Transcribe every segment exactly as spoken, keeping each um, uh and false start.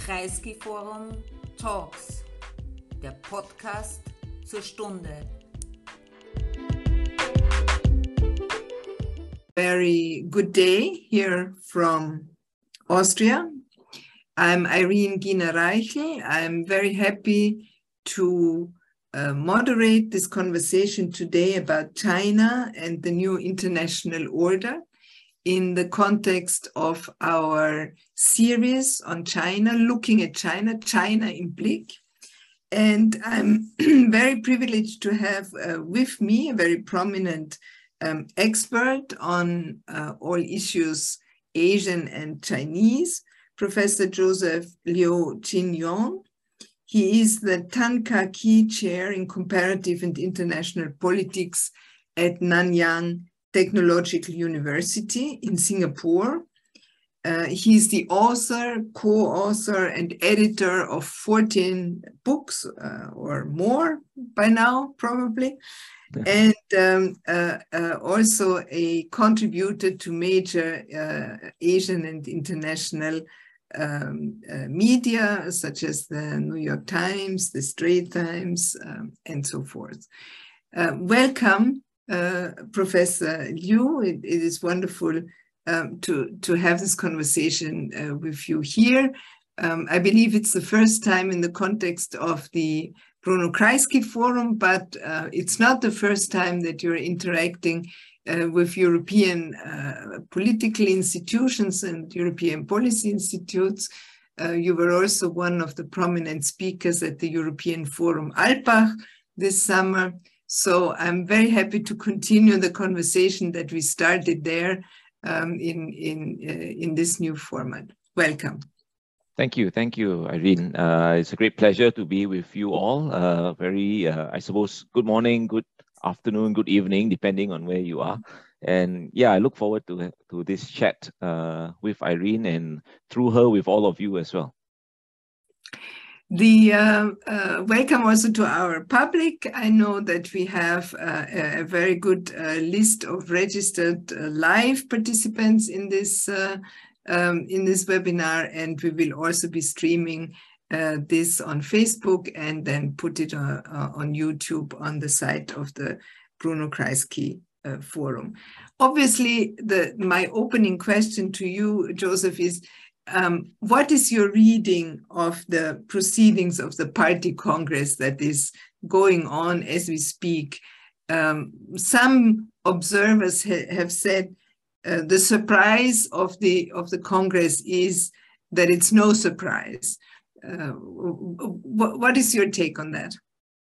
Kreisky Forum Talks, der Podcast zur Stunde. Very good day here from Austria. I'm Irene Giener-Reichel. I'm very happy to uh, moderate this conversation today about China and the new international order in the context of our series on China, looking at China, China im Blick. And I'm very privileged to have uh, with me a very prominent um, expert on uh, all issues Asian and Chinese, Professor Joseph Liu Jin-Yong. He is the Tan Kah-Kee Chair in Comparative and International Politics at Nanyang Technological University in Singapore. Uh, he's the author, co-author, and editor of fourteen books uh, or more by now, probably, and um, uh, uh, also a contributor to major uh, Asian and international um, uh, media, such as the New York Times, the Straits Times, um, and so forth. Uh, welcome. Uh, Professor Liu, it, it is wonderful um, to, to have this conversation uh, with you here. Um, I believe it's the first time in the context of the Bruno Kreisky Forum, but uh, it's not the first time that you're interacting uh, with European uh, political institutions and European policy institutes. Uh, you were also one of the prominent speakers at the European Forum Alpbach this summer. So I'm very happy to continue the conversation that we started there um, in, in, uh, in this new format. Welcome. Thank you. Thank you, Irene. Uh, it's a great pleasure to be with you all. Uh, very, uh, I suppose, good morning, good afternoon, good evening, depending on where you are. And yeah, I look forward to, to this chat uh, with Irene and through her with all of you as well. The uh, uh, welcome also to our public. I know that we have uh, a very good uh, list of registered uh, live participants in this uh, um, in this webinar, and we will also be streaming uh, this on Facebook and then put it uh, uh, on YouTube on the site of the Bruno Kreisky uh, Forum. Obviously, the my opening question to you, Joseph, is Um, what is your reading of the proceedings of the party congress that is going on as we speak? Um, some observers ha have said uh, the surprise of the of the congress is that it's no surprise. Uh, what, what is your take on that?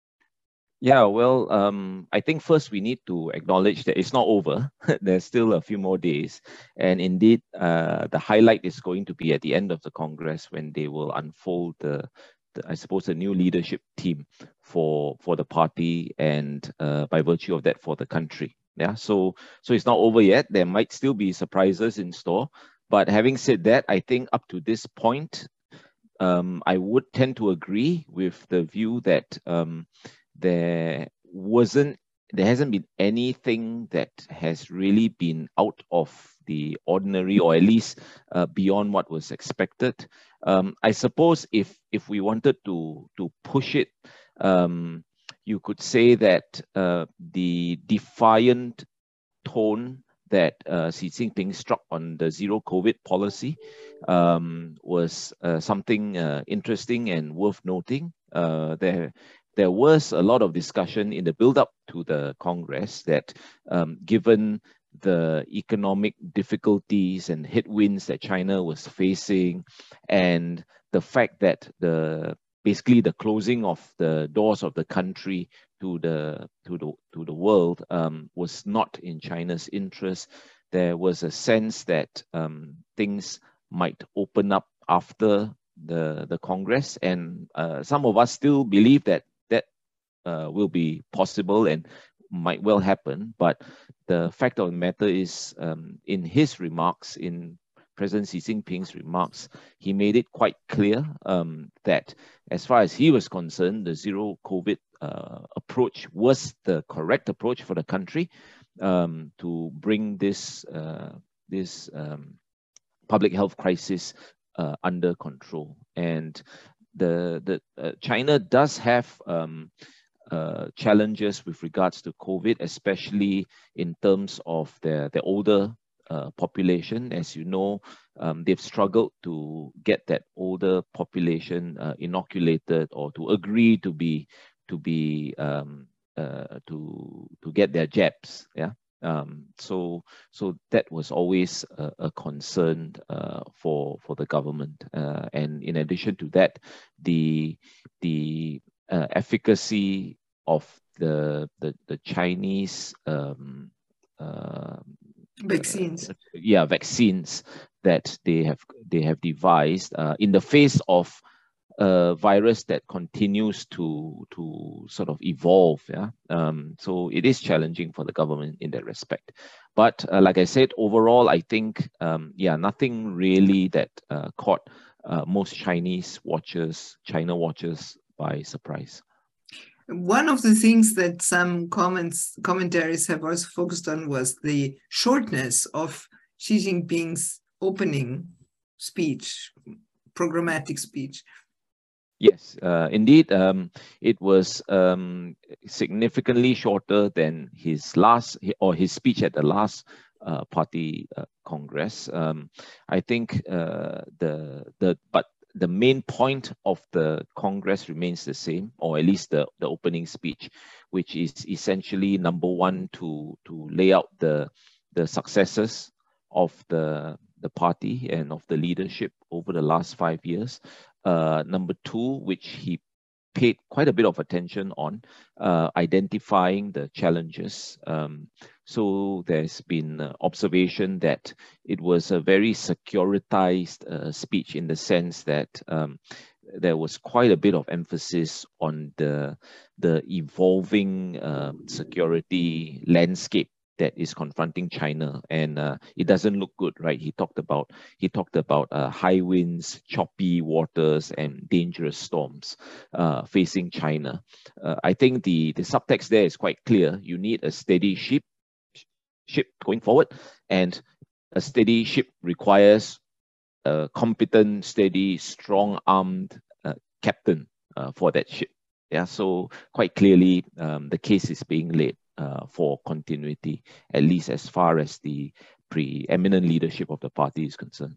Yeah, well, um, I think first we need to acknowledge that it's not over. There's still a few more days. And indeed, uh, the highlight is going to be at the end of the Congress when they will unfold the, the I suppose, the new leadership team for, for the party and uh, by virtue of that for the country. Yeah, so, so it's not over yet. There might still be surprises in store. But having said that, I think up to this point, um, I would tend to agree with the view that um, there wasn't, there hasn't been anything that has really been out of the ordinary, or at least uh, beyond what was expected. Um, I suppose if if we wanted to to push it, um, you could say that uh, the defiant tone that uh, Xi Jinping struck on the zero COVID policy um, was uh, something uh, interesting and worth noting. Uh, there. There was a lot of discussion in the build-up to the Congress that um, given the economic difficulties and headwinds that China was facing, and the fact that the basically the closing of the doors of the country to the to the to the world um, was not in China's interest, there was a sense that um, things might open up after the the Congress, and uh, some of us still believe that Uh, will be possible and might well happen. But the fact of the matter is, um, in his remarks, in President Xi Jinping's remarks, he made it quite clear um, that as far as he was concerned, the zero COVID uh, approach was the correct approach for the country um, to bring this, uh, this um, public health crisis uh, under control. And the the uh, China does have um, uh, challenges with regards to COVID, especially in terms of their their older uh, population. As you know, um, they've struggled to get that older population uh, inoculated or to agree to be to be um, uh, to to get their jabs. Yeah. Um, so, so that was always a, a concern uh, for for the government, uh, and in addition to that, the the uh, efficacy of the the, the Chinese um, uh, Vaccines. uh, yeah, vaccines that they have they have devised uh, in the face of a virus that continues to to sort of evolve. Yeah, um, so it is challenging for the government in that respect. But uh, like I said, overall, I think um, yeah, nothing really that uh, caught uh, most Chinese watchers, China watchers by surprise. One of the things that some comments commentaries have also focused on was the shortness of Xi Jinping's opening speech, programmatic speech. Yes, uh, indeed, um, it was um, significantly shorter than his last or his speech at the last uh, party uh, congress. Um, I think uh, the the but the main point of the congress remains the same, or at least the the opening speech, which is essentially number one to to lay out the the successes of the the party and of the leadership over the last five years. Uh, number two, which he paid quite a bit of attention on, uh, identifying the challenges. Um, so there's been uh, observation that it was a very securitized uh, speech in the sense that um, there was quite a bit of emphasis on the, the evolving uh, security landscape that is confronting China, and uh, it doesn't look good, right? He talked about he talked about uh, high winds, choppy waters, and dangerous storms uh, facing China. Uh, I think the the subtext there is quite clear. You need a steady ship ship going forward, and a steady ship requires a competent, steady, strong-armed uh, captain uh, for that ship. Yeah, so quite clearly, um, the case is being laid Uh, for continuity, at least as far as the preeminent leadership of the party is concerned.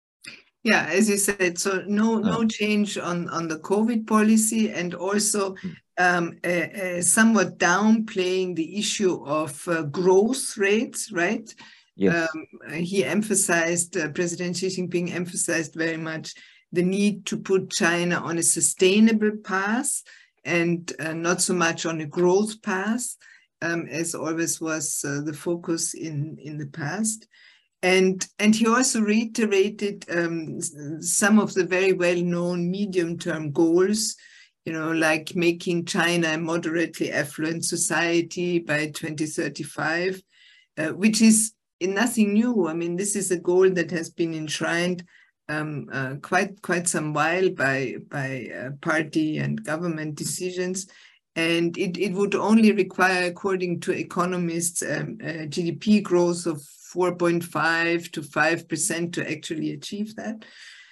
Yeah, as you said, so no no uh, change on, on the COVID policy, and also um, uh, uh, somewhat downplaying the issue of uh, growth rates, right? Yes. Um, he emphasized, uh, President Xi Jinping emphasized very much the need to put China on a sustainable path and uh, not so much on a growth path. Um, as always was uh, the focus in, in the past. And, and he also reiterated um, some of the very well-known medium-term goals, you know, like making China a moderately affluent society by twenty thirty-five, uh, which is nothing new. I mean, this is a goal that has been enshrined um, uh, quite, quite some while by, by uh, party and government decisions. And it, it would only require, according to economists, um, a G D P growth of four point five to five percent to actually achieve that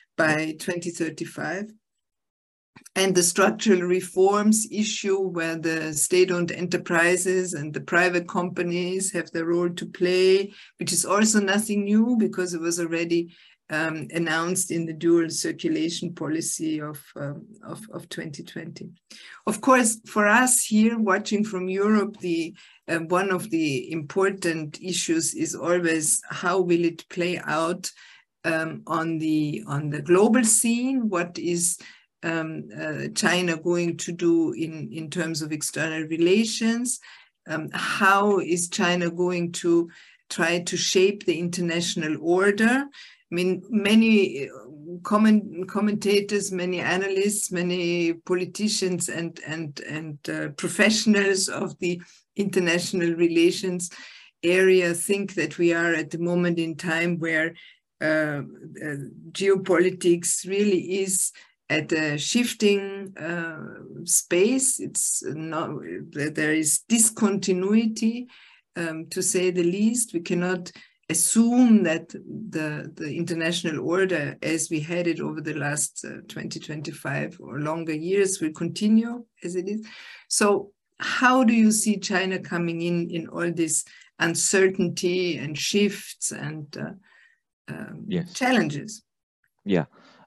by twenty thirty-five. And the structural reforms issue, where the state-owned enterprises and the private companies have their role to play, which is also nothing new because it was already Um, announced in the dual circulation policy of, um, of, of twenty twenty. Of course, for us here watching from Europe, the uh, one of the important issues is always how will it play out um, on the on the global scene? What is um, uh, China going to do in, in terms of external relations? Um, how is China going to try to shape the international order? I mean, many comment, commentators, many analysts, many politicians and, and, and uh, professionals of the international relations area think that we are at the moment in time where uh, uh, geopolitics really is at a shifting uh, space. It's not, there is discontinuity, um, to say the least. We cannot assume that the, the international order as we had it over the last uh, twenty, twenty-five or longer years will continue as it is. So how do you see China coming in in all this uncertainty and shifts and uh, um, yes. challenges? Yeah.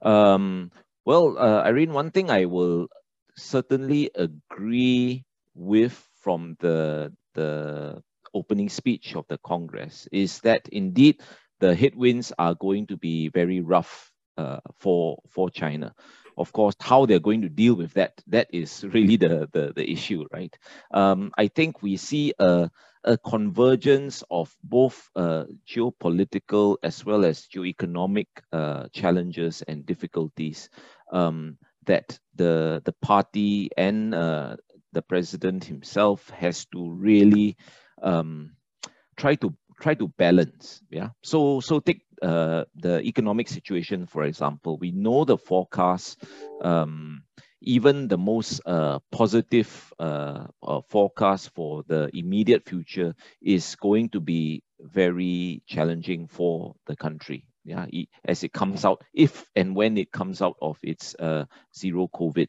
Um, well, uh, Irene, one thing I will certainly agree with from the, the opening speech of the Congress is that indeed the headwinds are going to be very rough uh, for, for China. Of course, how they're going to deal with that, that is really the, the, the issue, right? Um, I think we see a, a convergence of both uh, geopolitical as well as geoeconomic uh, challenges and difficulties um, that the, the party and uh, the president himself has to really um, try to try to balance. Yeah. So so take uh, the economic situation, for example. We know the forecast, um, even the most uh, positive uh, uh, forecast for the immediate future is going to be very challenging for the country. Yeah, as it comes out, if and when it comes out of its uh, zero COVID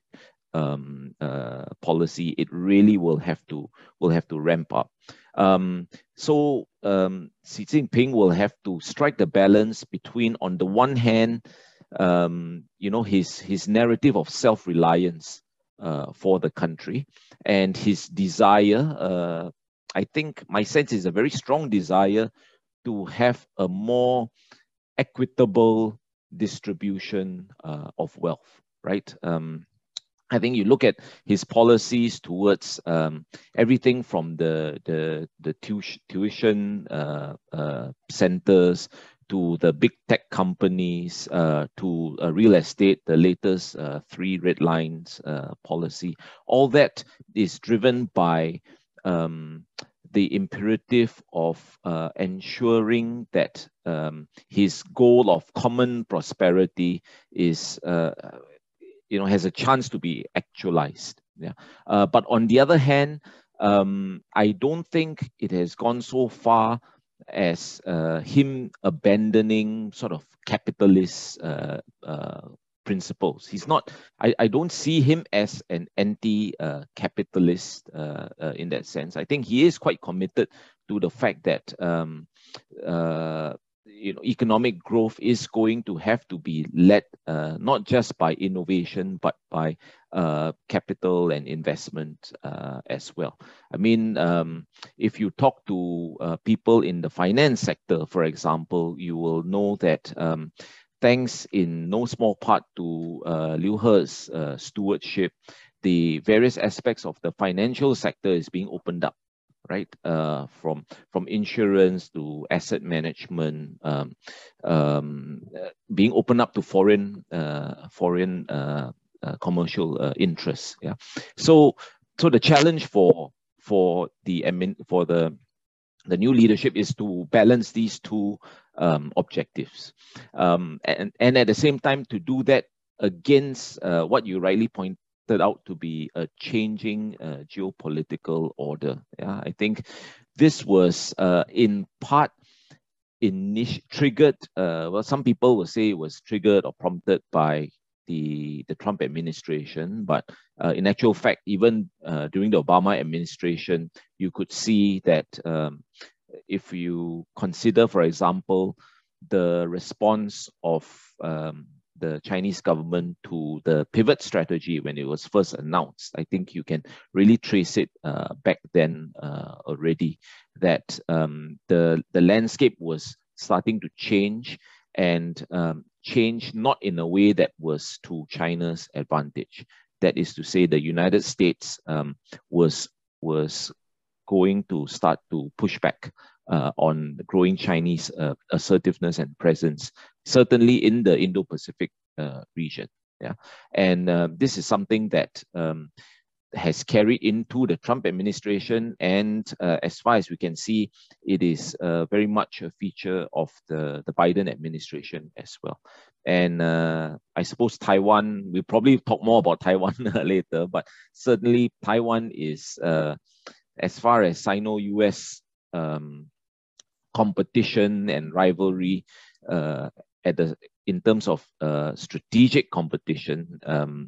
um, uh, policy, it really will have to will have to ramp up. Um, so um, Xi Jinping will have to strike the balance between, on the one hand, um, you know, his his narrative of self-reliance uh, for the country and his desire. Uh, I think my sense is a very strong desire to have a more equitable distribution uh, of wealth, right? Um, I think you look at his policies towards um, everything from the the, the tuition uh, uh, centers to the big tech companies uh, to uh, real estate, the latest uh, three red lines uh, policy. All that is driven by um, the imperative of uh, ensuring that um, his goal of common prosperity is uh, you know, has a chance to be actualized. Yeah. Uh, but on the other hand, um, I don't think it has gone so far as uh, him abandoning sort of capitalist uh, uh, principles. He's not, I, I don't see him as an anti-capitalist uh, uh, uh, in that sense. I think he is quite committed to the fact that um, uh, you know, economic growth is going to have to be led uh, not just by innovation, but by uh, capital and investment uh, as well. I mean, um, if you talk to uh, people in the finance sector, for example, you will know that um, thanks in no small part to uh, Liu He's uh, stewardship, the various aspects of the financial sector is being opened up, right? Uh, from from insurance to asset management, um, um, being opened up to foreign uh, foreign uh, uh, commercial uh, interests. Yeah. So so the challenge for for the admin for the the new leadership is to balance these two um, objectives, um, and and at the same time to do that against uh, what you rightly point out to be a changing uh, geopolitical order. Yeah, I think this was uh, in part init triggered. Uh, well, some people will say it was triggered or prompted by the the Trump administration, but uh, in actual fact, even uh, during the Obama administration, you could see that um, if you consider, for example, the response of um, the Chinese government to the pivot strategy when it was first announced, I think you can really trace it uh, back then uh, already, that um, the, the landscape was starting to change, and um, change not in a way that was to China's advantage. That is to say, the United States um, was, was going to start to push back Uh, on the growing Chinese uh, assertiveness and presence, certainly in the Indo-Pacific uh, region. Yeah, and uh, this is something that um, has carried into the Trump administration, and uh, as far as we can see, it is uh, very much a feature of the, the Biden administration as well. And uh, I suppose Taiwan, we'll probably talk more about Taiwan later, but certainly Taiwan is, uh, as far as Sino-U S um, competition and rivalry uh, at the in terms of uh, strategic competition. Um,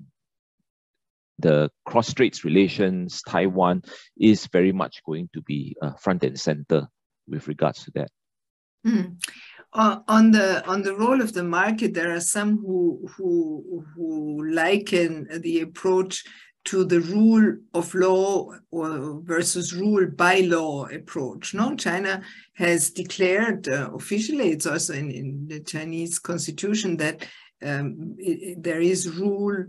the cross-straits relations, Taiwan is very much going to be uh, front and center with regards to that. Mm. Uh, on the on the role of the market, there are some who who who liken the approach to the rule of law or versus rule by law approach. No, China has declared uh, officially, it's also in, in the Chinese constitution, that um, it, it, there is rule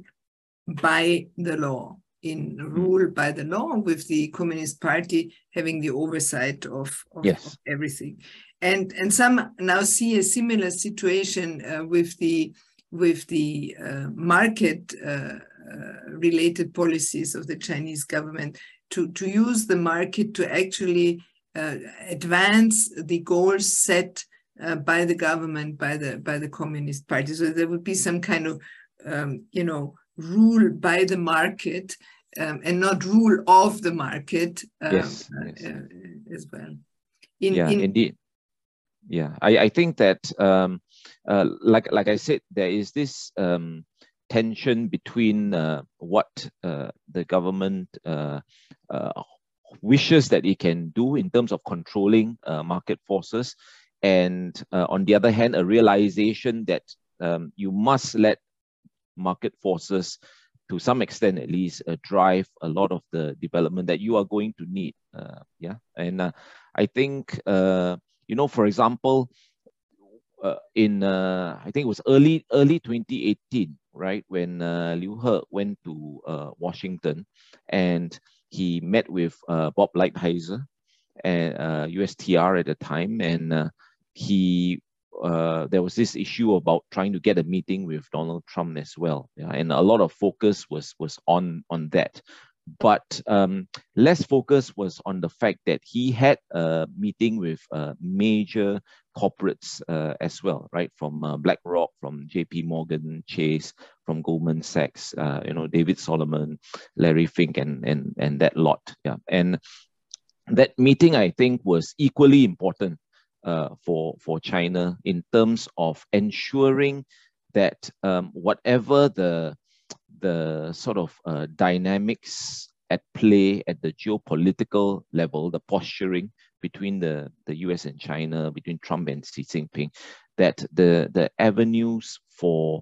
by the law, in rule by the law, with the Communist Party having the oversight of, of, yes. of everything. And and some now see a similar situation uh, with the with the uh, market uh, uh, related policies of the Chinese government to to use the market to actually uh, advance the goals set uh, by the government, by the by the Communist Party. So there would be some kind of um, you know rule by the market um, and not rule of the market um, yes, uh, yes. Uh, as well. In, yeah, in, indeed. Yeah, I, I think that, um, uh, like like I said, there is this um, tension between uh, what uh, the government uh, uh, wishes that it can do in terms of controlling uh, market forces, and uh, on the other hand, a realization that um, you must let market forces, to some extent at least, uh, drive a lot of the development that you are going to need. Uh, yeah, and uh, I think. Uh, You know, for example, uh, in uh, I think it was early early twenty eighteen, right, when uh, Liu He went to uh, Washington, and he met with uh, Bob Lighthizer, and uh, U S T R at the time, and uh, he uh, there was this issue about trying to get a meeting with Donald Trump as well, yeah, and a lot of focus was was on on that. But um, less focus was on the fact that he had a meeting with uh, major corporates uh, as well, right? From uh, BlackRock, from J P Morgan Chase, from Goldman Sachs, uh, you know, David Solomon, Larry Fink, and and and that lot. Yeah, and that meeting, I think, was equally important uh, for for China in terms of ensuring that um, whatever the the sort of uh, dynamics at play at the geopolitical level, the posturing between the, the U S and China, between Trump and Xi Jinping, that the, the avenues for,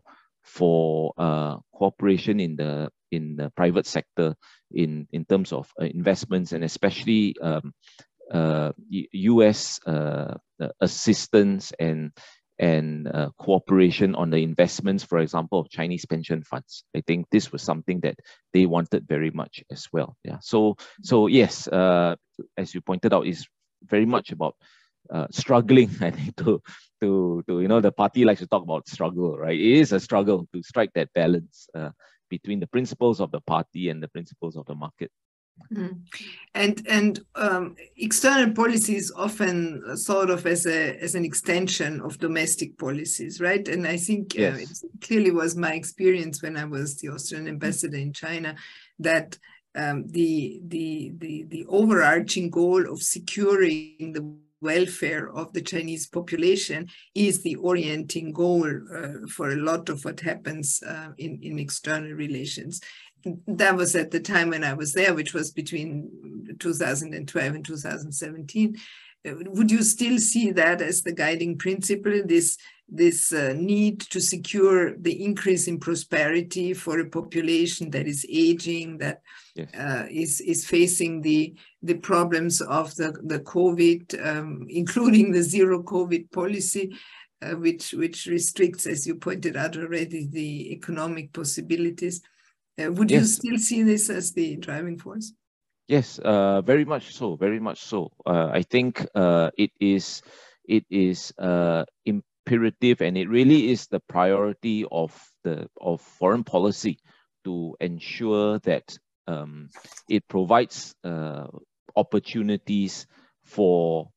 for uh, cooperation in the, in the private sector in, in terms of uh, investments, and especially um, uh, U S uh, assistance and and uh, cooperation on the investments, for example, of Chinese pension funds. I think this was something that they wanted very much as well. Yeah. So, so yes, uh, as you pointed out, is very much about uh, struggling. I think to to to you know the party likes to talk about struggle, right? It is a struggle to strike that balance uh, between the principles of the party and the principles of the market. Mm. And and um, external policy is often thought of as a as an extension of domestic policies, right? And I think yes. uh, it clearly was my experience when I was the Austrian ambassador in China that um, the the the the overarching goal of securing the welfare of the Chinese population is the orienting goal uh, for a lot of what happens uh, in in external relations. That was at the time when I was there, which was between two thousand twelve and two thousand seventeen. Would you still see that as the guiding principle, this, this uh, need to secure the increase in prosperity for a population that is aging, that yes. uh, is, is facing the, the problems of the, the COVID, um, including the zero COVID policy, uh, which, which restricts, as you pointed out already, the economic possibilities? Uh, would yes. you still see this as the driving force? Yes, uh, very much so. Very much so. Uh, I think uh, it is it is uh, imperative, and it really is the priority of the of foreign policy to ensure that um, it provides uh, opportunities for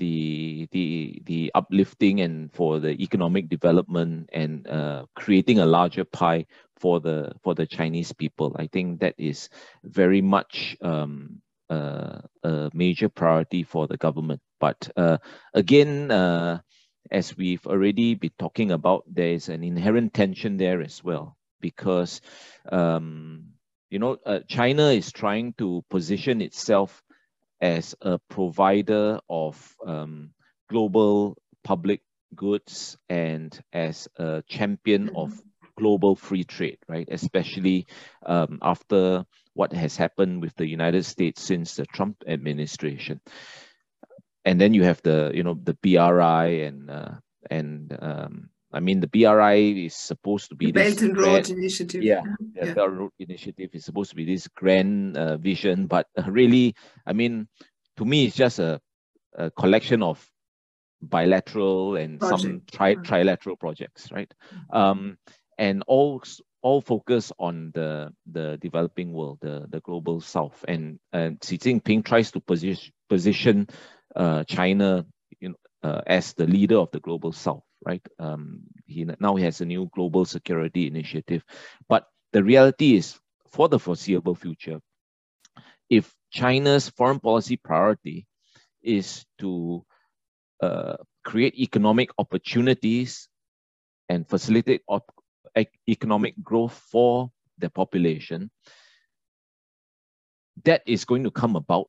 the the the uplifting and for the economic development and uh, creating a larger pie for the for the Chinese people. I think that is very much um, uh, a major priority for the government. But uh, again, uh, as we've already been talking about, there is an inherent tension there as well, because um, you know, uh, China is trying to position itself as a provider of um, global public goods and as a champion of global free trade, right? Especially um, after what has happened with the United States since the Trump administration. And then you have the, you know, the B R I and uh, and um, I mean, the B R I is supposed to be the this Belt and Road Initiative. Yeah, the yeah. Belt and Road Initiative is supposed to be this grand uh, vision, but uh, really, I mean, to me, it's just a, a collection of bilateral and Project. some tri trilateral projects, right? Um, and all all focus on the the developing world, the the global south, and and Xi Jinping tries to position position uh, China, you know, uh, as the leader of the global south, right? Um, he now he has a new global security initiative, but the reality is, for the foreseeable future, if China's foreign policy priority is to uh, create economic opportunities and facilitate op economic growth for the population, that is going to come about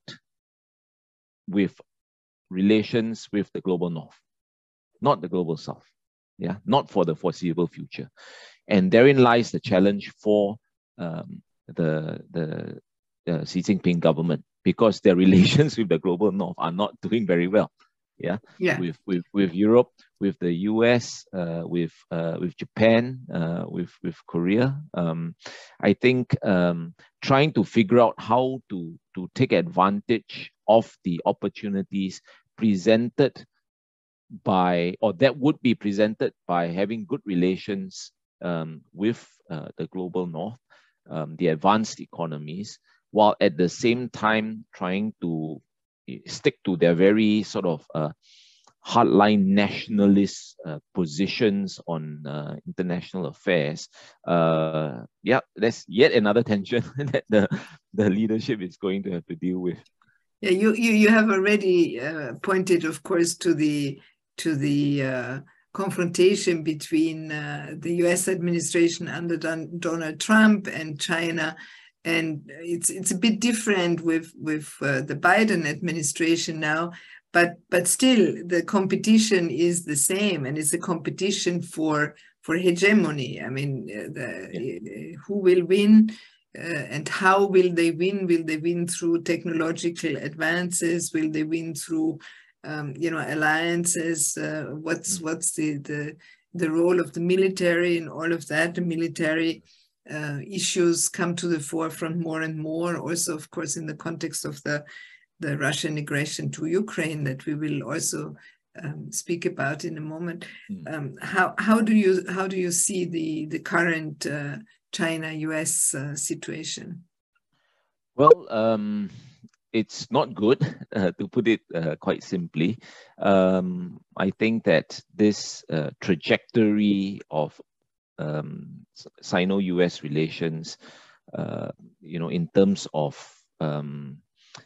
with relations with the global north, not the global south. Yeah, not for the foreseeable future. And therein lies the challenge for um, the, the, the Xi Jinping government, because their relations with the global north are not doing very well. Yeah, yeah. With, with, with Europe, with the U S, uh, with, uh, with Japan, uh, with, with Korea. Um, I think um, trying to figure out how to, to take advantage of the opportunities presented by, or that would be presented by having good relations um, with uh, the global north, um, the advanced economies, while at the same time trying to stick to their very sort of uh, hardline nationalist uh, positions on uh, international affairs. Uh, yeah, that's yet another tension that the, the leadership is going to have to deal with. Yeah, you you, you have already uh, pointed, of course, to the to the uh, confrontation between uh, the U S administration under Don Donald Trump and China. And it's it's a bit different with with uh, the Biden administration now, but but still the competition is the same, and it's a competition for for hegemony. I mean, uh, the, yeah. who will win uh, and how will they win? Will they win through technological advances? Will they win through um, you know, alliances? Uh, what's what's the the the role of the military and all of that? The military Uh, issues come to the forefront more and more, also, of course, in the context of the, the Russian aggression to Ukraine that we will also um, speak about in a moment. Mm. Um, how, how, do you, how do you see the, the current uh, China-U S uh, situation? Well, um, it's not good, uh, to put it uh, quite simply. Um, I think that this uh, trajectory of Um, Sino-U S relations, uh, you know, in terms of um,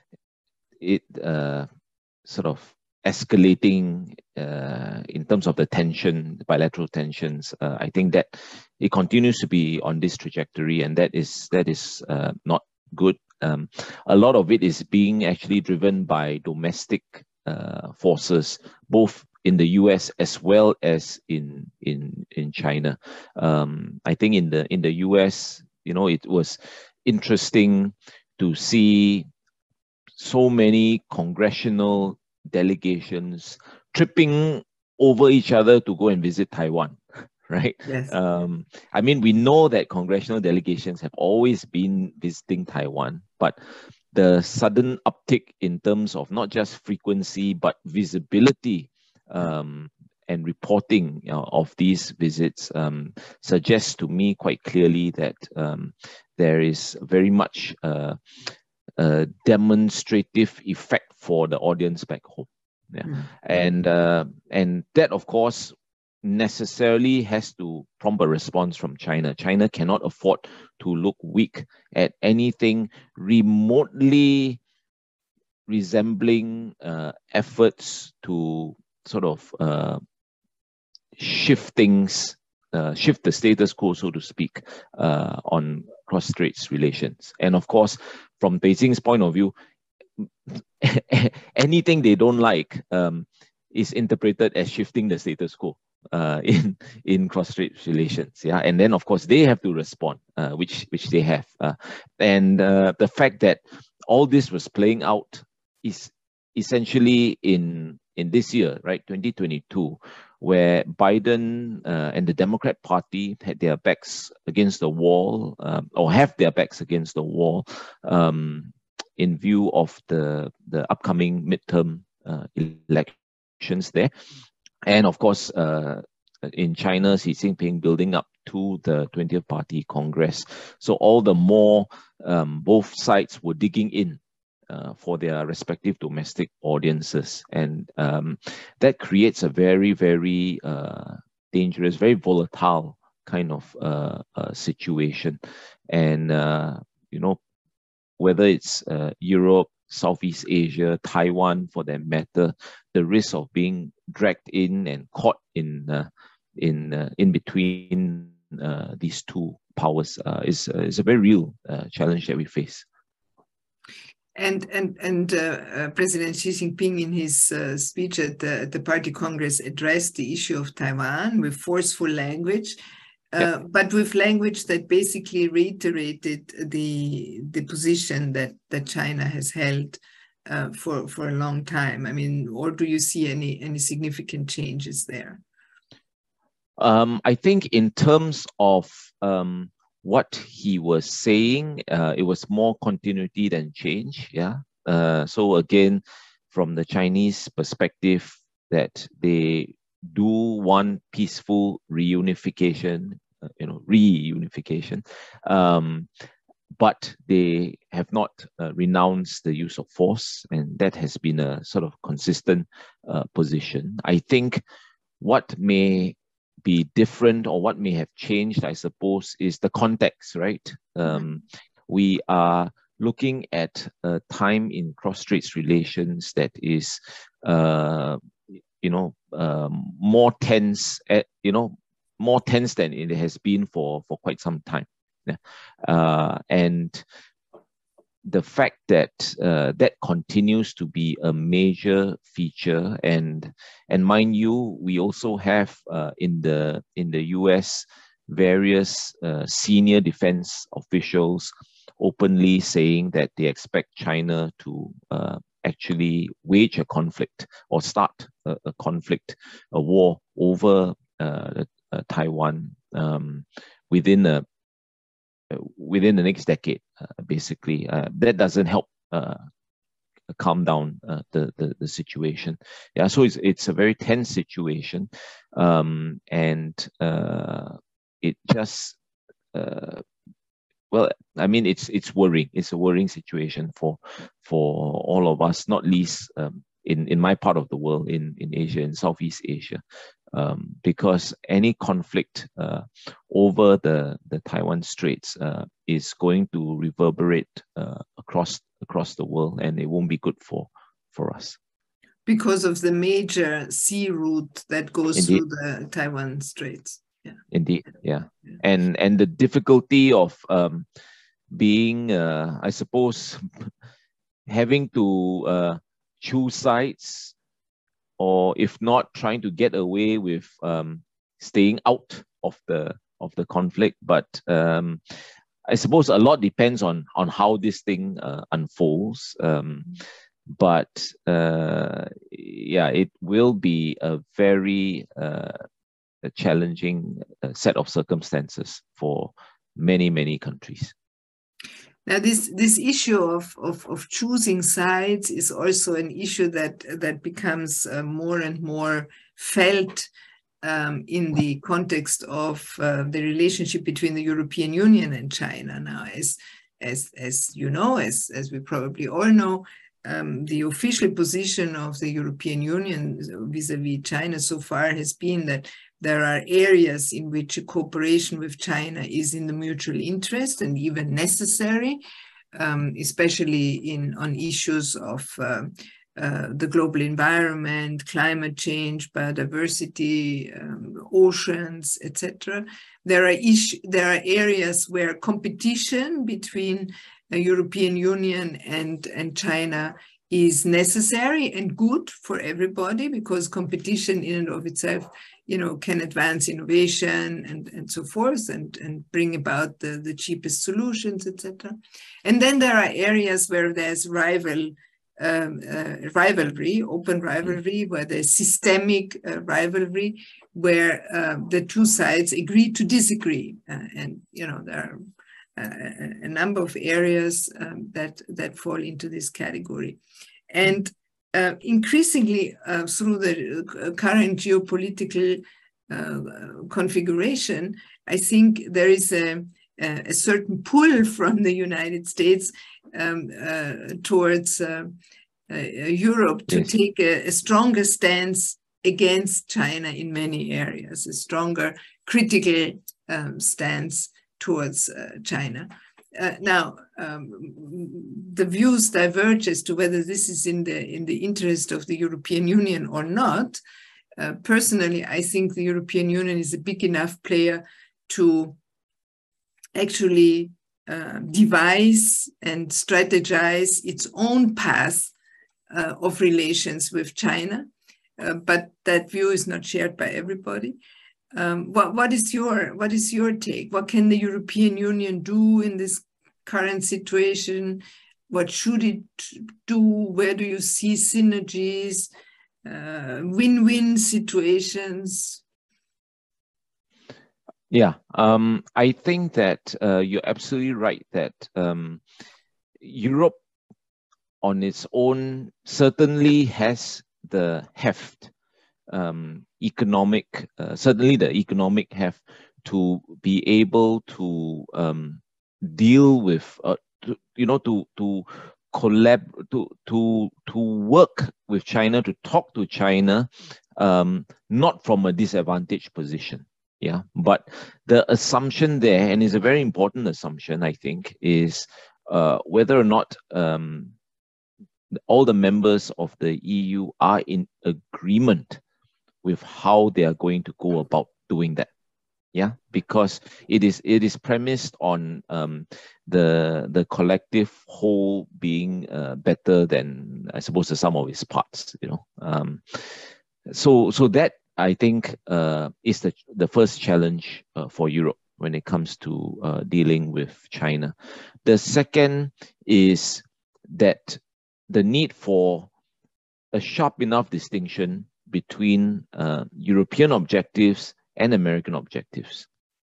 it uh, sort of escalating uh, in terms of the tension, the bilateral tensions, uh, I think that it continues to be on this trajectory, and that is that is uh, not good. Um, a lot of it is being actually driven by domestic uh, forces, both in the U S as well as in in in China. Um, I think in the in the U S, you know, it was interesting to see so many congressional delegations tripping over each other to go and visit Taiwan, right? Yes. Um, I mean, we know that congressional delegations have always been visiting Taiwan, but the sudden uptick in terms of not just frequency but visibility Um, and reporting you know, of these visits um, suggests to me quite clearly that um, there is very much uh, a demonstrative effect for the audience back home. Yeah. Mm-hmm. And, uh, and that, of course, necessarily has to prompt a response from China. China cannot afford to look weak at anything remotely resembling uh, efforts to sort of uh, shift things, uh, shift the status quo, so to speak, uh, on cross-straits relations. And of course, from Beijing's point of view, anything they don't like um, is interpreted as shifting the status quo uh, in in cross-strait relations. Yeah, and then of course they have to respond, uh, which which they have. Uh, and uh, the fact that all this was playing out is essentially in in this year, right, twenty twenty-two, where Biden uh, and the Democrat Party had their backs against the wall, um, or have their backs against the wall, um, in view of the the upcoming midterm uh, elections there. And of course, uh, in China, Xi Jinping building up to the twentieth Party Congress. So all the more um, both sides were digging in uh, for their respective domestic audiences. And um, that creates a very, very uh, dangerous, very volatile kind of uh, uh, situation. And, uh, you know, whether it's uh, Europe, Southeast Asia, Taiwan, for that matter, the risk of being dragged in and caught in uh, in uh, in between uh, these two powers uh, is uh, is a very real uh, challenge that we face. And and and uh, uh, President Xi Jinping, in his uh, speech at the, at the Party Congress, addressed the issue of Taiwan with forceful language. Uh, yeah. But with language that basically reiterated the the position that that China has held uh, for for a long time. I mean, or do you see any any significant changes there? Um, I think in terms of um, what he was saying, uh, it was more continuity than change. Yeah. Uh, so again, from the Chinese perspective, that they do want peaceful reunification, uh, you know, reunification, um, but they have not uh, renounced the use of force, and that has been a sort of consistent uh, position. I think what may be different, or what may have changed, I suppose, is the context, right? Um, we are looking at a time in cross-straits relations that is, uh, you know, um, more tense, at, you know, more tense than it has been for, for quite some time. Yeah. Uh, and the fact that uh, that continues to be a major feature, and and mind you, we also have uh, in the in the U S various uh, senior defense officials openly saying that they expect China to uh, actually wage a conflict or start a, a conflict, a war over uh, uh, Taiwan um, within a within the next decade, uh, basically. Uh, that doesn't help uh, calm down uh, the, the the situation. Yeah, so it's it's a very tense situation, um, and uh, it just uh, well, I mean, it's it's worrying. It's a worrying situation for for all of us, not least um, in in my part of the world, in in Asia, in Southeast Asia. Um, because any conflict uh, over the, the Taiwan Straits uh, is going to reverberate uh, across across the world, and it won't be good for, for us. Because of the major sea route that goes Indeed. through the Taiwan Straits. Yeah. Indeed, yeah. yeah. And, and the difficulty of um, being, uh, I suppose, having to uh, choose sides, or if not, trying to get away with um, staying out of the of the conflict. But um, I suppose a lot depends on on how this thing uh, unfolds. Um, but uh, yeah, it will be a very uh, a challenging uh, set of circumstances for many many countries. Now, this this issue of, of, of choosing sides is also an issue that that becomes uh, more and more felt um, in the context of uh, the relationship between the European Union and China. Now, as as as you know, as as we probably all know, um, the official position of the European Union vis-a-vis China so far has been that there are areas in which a cooperation with China is in the mutual interest and even necessary. um, especially in on issues of uh, uh, the global environment, climate change, biodiversity, um, oceans, et cetera. There are issues, there are areas where competition between the European Union and, and China is necessary and good for everybody, because competition in and of itself, you know, can advance innovation and, and so forth, and, and bring about the, the cheapest solutions, et cetera. And then there are areas where there's rival um, uh, rivalry, open rivalry, where there's systemic uh, rivalry, where uh, the two sides agree to disagree. Uh, and, you know, there are uh, a number of areas um, that, that fall into this category. And uh, increasingly, uh, through the current geopolitical uh, configuration, I think there is a, a certain pull from the United States um, uh, towards uh, uh, Europe to yes. take a, a stronger stance against China in many areas, a stronger critical um, stance towards uh, China. Uh, now, um, the views diverge as to whether this is in the in the interest of the European Union or not. Uh, personally, I think the European Union is a big enough player to actually uh, devise and strategize its own path uh, of relations with China. Uh, but that view is not shared by everybody. Um, what, what is your what is your take? What can the European Union do in this current situation? What should it do? Where do you see synergies, uh, win-win situations? Yeah, um, I think that uh, you're absolutely right that um, Europe on its own certainly has the heft, um, economic, uh, certainly the economic heft to be able to um, deal with, uh, to, you know, to to collab, to to to work with China, to talk to China, um, not from a disadvantaged position. Yeah, but the assumption there, and it's a very important assumption, I think, is uh, whether or not um, all the members of the E U are in agreement with how they are going to go about doing that. Yeah, because it is it is premised on um, the the collective whole being uh, better than, I suppose, the sum of its parts. You know, um, so so that I think uh, is the the first challenge uh, for Europe when it comes to uh, dealing with China. The second is that the need for a sharp enough distinction between uh, European objectives and American objectives.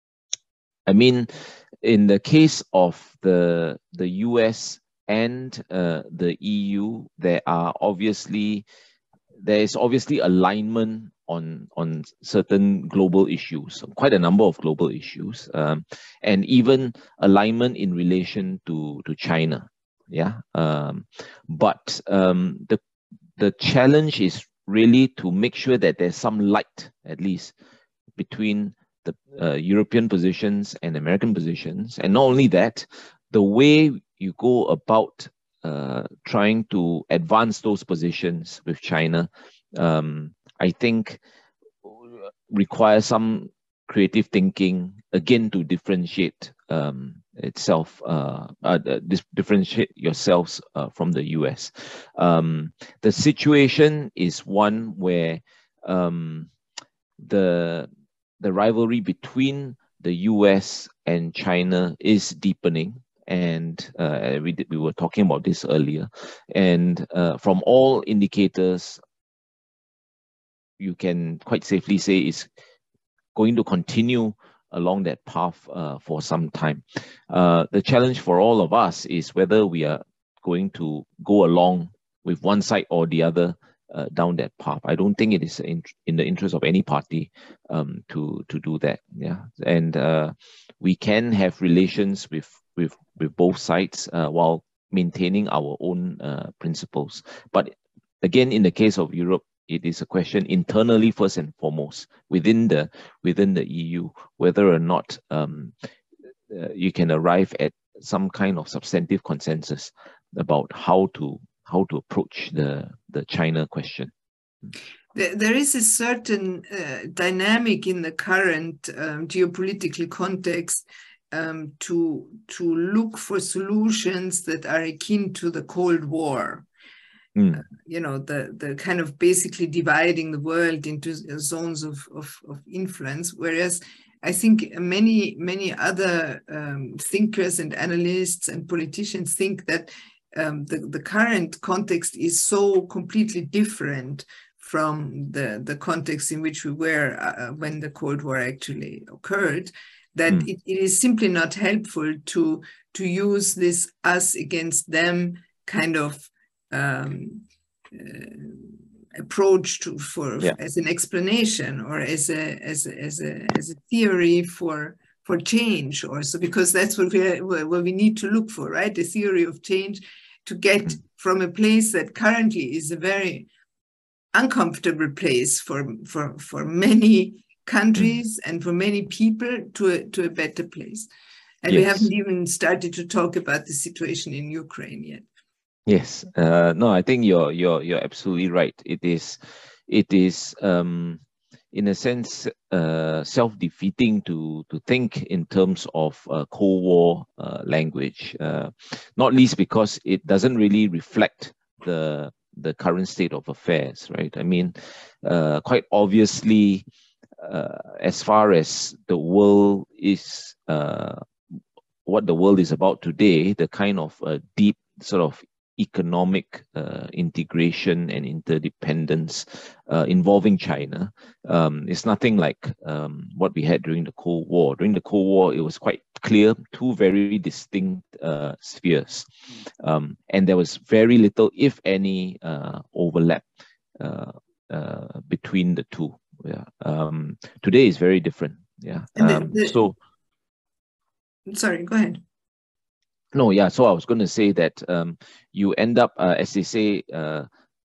I mean, in the case of the the U S and uh, the E U, there are obviously there is obviously alignment on on certain global issues, quite a number of global issues, um, and even alignment in relation to to China. Yeah, um, but um, the the challenge is really to make sure that there's some light, at least, between the uh, European positions and American positions. And not only that, the way you go about uh, trying to advance those positions with China, um, I think requires some creative thinking, again, to differentiate um, itself, uh, uh, differentiate yourselves uh, from the U S. Um, the situation is one where um, the the rivalry between the U S and China is deepening, and uh, we did, we were talking about this earlier. And uh, from all indicators, you can quite safely say it's going to continue along that path uh, for some time. Uh, the challenge for all of us is whether we are going to go along with one side or the other uh, down that path. I don't think it is in, in the interest of any party um, to to do that. Yeah, and uh, we can have relations with with with both sides uh, while maintaining our own uh, principles. But again, in the case of Europe, it is a question internally first and foremost within the within the E U, whether or not um, uh, you can arrive at some kind of substantive consensus about how to how to approach the the China question. There, there is a certain uh, dynamic in the current um, geopolitical context um, to to look for solutions that are akin to the Cold War. Mm. Uh, you know, the the kind of basically dividing the world into zones of of, of influence, whereas I think many, many other um, thinkers and analysts and politicians think that um, the, the current context is so completely different from the, the context in which we were uh, when the Cold War actually occurred, that Mm. it, it is simply not helpful to, to use this us against them kind of um, uh, approach to for Yeah. as an explanation or as a as a, as a as a theory for for change also, because that's what we what we need to look for, right? The theory of change to get Mm. from a place that currently is a very uncomfortable place for for for many countries mm. and for many people to a, to a better place. And yes. we haven't even started to talk about the situation in Ukraine yet. Yes, uh, no, I think you're you're you're absolutely right. It is, it is, um, in a sense, uh, self-defeating to to think in terms of uh, Cold War uh, language, uh, not least because it doesn't really reflect the the current state of affairs, right? I mean, uh, quite obviously, uh, as far as the world is, uh, what the world is about today, the kind of uh, deep sort of economic uh, integration and interdependence uh, involving China um, is nothing like um, what we had during the Cold War. During the Cold War, it was quite clear, two very distinct uh, spheres. Um, and there was very little, if any, uh, overlap uh, uh, between the two. Yeah. Um, today is very different. Yeah. Um, the, the, so, sorry, go ahead. No, yeah. So I was going to say that um, you end up, uh, as they say, uh,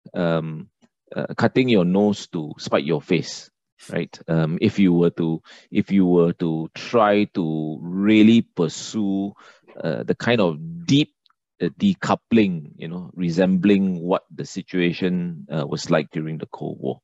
um, uh, cutting your nose to spite your face, right? Um, if you were to, if you were to try to really pursue uh, the kind of deep uh, decoupling, you know, resembling what the situation uh, was like during the Cold War.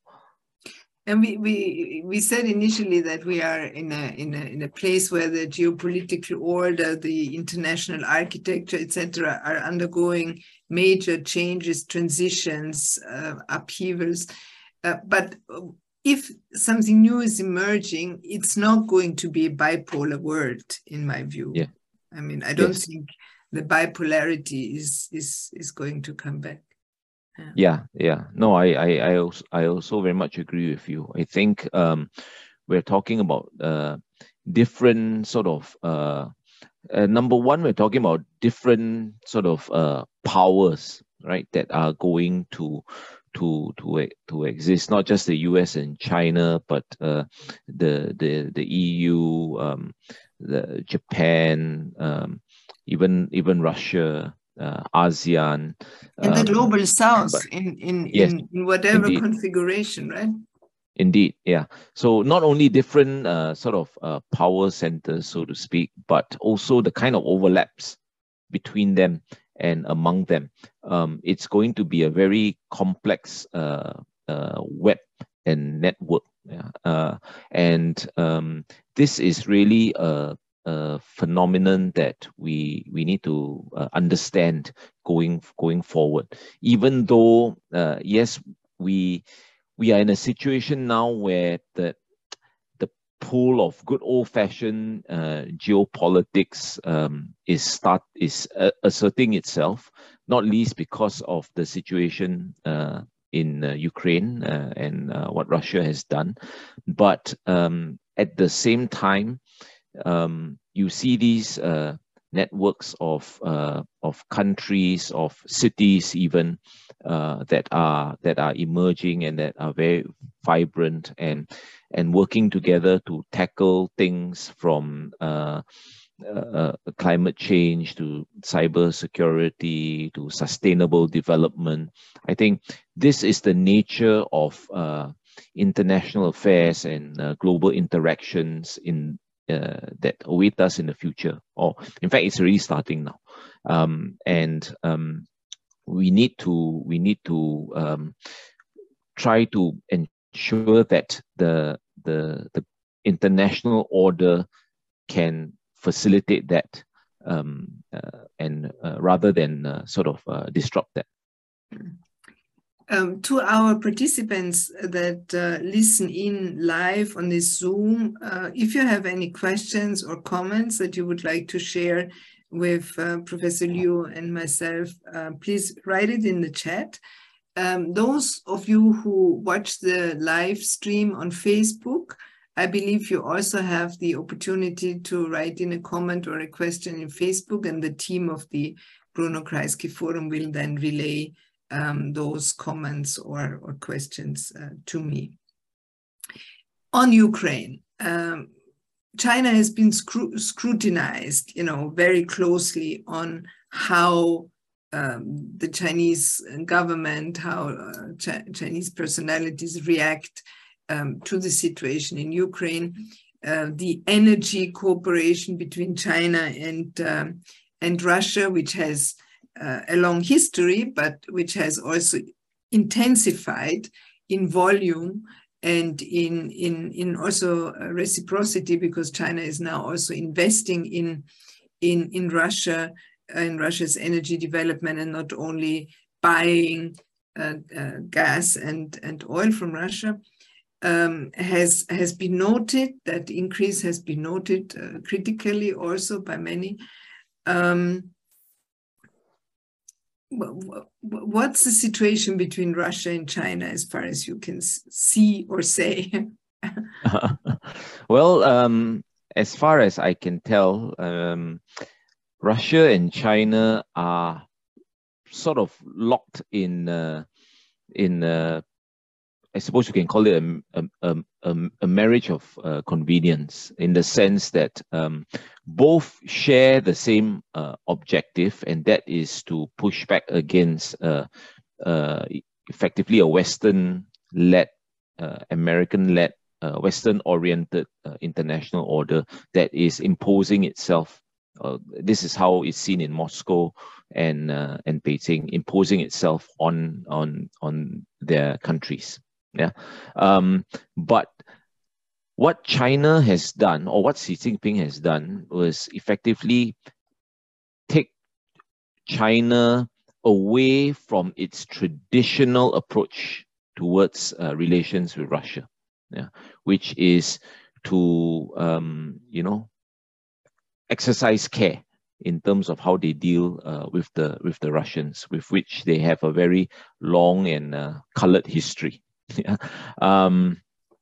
And we, we we said initially that we are in a in a in a place where the geopolitical order, the international architecture, et cetera, are undergoing major changes, transitions, uh, upheavals. Uh, but if something new is emerging, it's not going to be a bipolar world, in my view. Yeah. I mean, I don't yes. think the bipolarity is is is going to come back. Yeah. yeah, yeah. No, I, I, I also, I also very much agree with you. I think um, we're talking about uh, different sort of. Uh, uh, number one, we're talking about different sort of uh, powers, right? That are going to to to to exist. Not just the U S and China, but uh, the the the E U, um, the Japan, um, even even Russia. Uh, ASEAN and the um, global south but, in in, yes, in in whatever indeed. configuration, right? Indeed, yeah. So not only different uh, sort of uh, power centers, so to speak, but also the kind of overlaps between them and among them. Um, it's going to be a very complex uh, uh, web and network. Yeah? Uh, and um, this is really a a phenomenon that we we need to uh, understand going going forward. Even though uh, yes, we we are in a situation now where the the pool of good old-fashioned uh, geopolitics um, is start is uh, asserting itself, not least because of the situation uh, in uh, Ukraine uh, and uh, what Russia has done, but um, at the same time. Um, you see these uh, networks of uh, of countries, of cities, even uh, that are that are emerging and that are very vibrant and and working together to tackle things from uh, uh, climate change to cyber security to sustainable development. I think this is the nature of uh, international affairs and uh, global interactions in uh, that await us in the future, or in fact, it's already starting now. Um, and um, we need to we need to um, try to ensure that the the the international order can facilitate that, um, uh, and uh, rather than uh, sort of uh, disrupt that. Um, to our participants that uh, listen in live on this Zoom, uh, if you have any questions or comments that you would like to share with uh, Professor Liu and myself, uh, please write it in the chat. Um, those of you who watch the live stream on Facebook, I believe you also have the opportunity to write in a comment or a question in Facebook, and the team of the Bruno Kreisky Forum will then relay um, those comments or, or questions uh, to me. On Ukraine, um, China has been scru scrutinized, you know, very closely on how um, the Chinese government, how uh, Ch Chinese personalities react um, to the situation in Ukraine. Uh, the energy cooperation between China and um, and Russia, which has uh, a long history, but which has also intensified in volume and in, in, in also reciprocity, because China is now also investing in, in, in Russia, in Russia's energy development, and not only buying uh, uh, gas and, and oil from Russia, um, has, has been noted. That increase has been noted uh, critically also by many. Um, What's the situation between Russia and China as far as you can see or say? Well, um, as far as I can tell, um, Russia and China are sort of locked in, uh, in uh, I suppose you can call it a, a, a, a marriage of uh, convenience, in the sense that um, both share the same uh, objective, and that is to push back against uh, uh, effectively a Western-led, uh, American-led, uh, Western-oriented uh, international order that is imposing itself. Uh, this is how it's seen in Moscow and uh, and Beijing, imposing itself on on on their countries. Yeah, um, but what China has done, or what Xi Jinping has done, was effectively take China away from its traditional approach towards uh, relations with Russia, yeah, which is to um, you know exercise care in terms of how they deal uh, with the with the Russians, with which they have a very long and uh, colored history. Yeah. Um,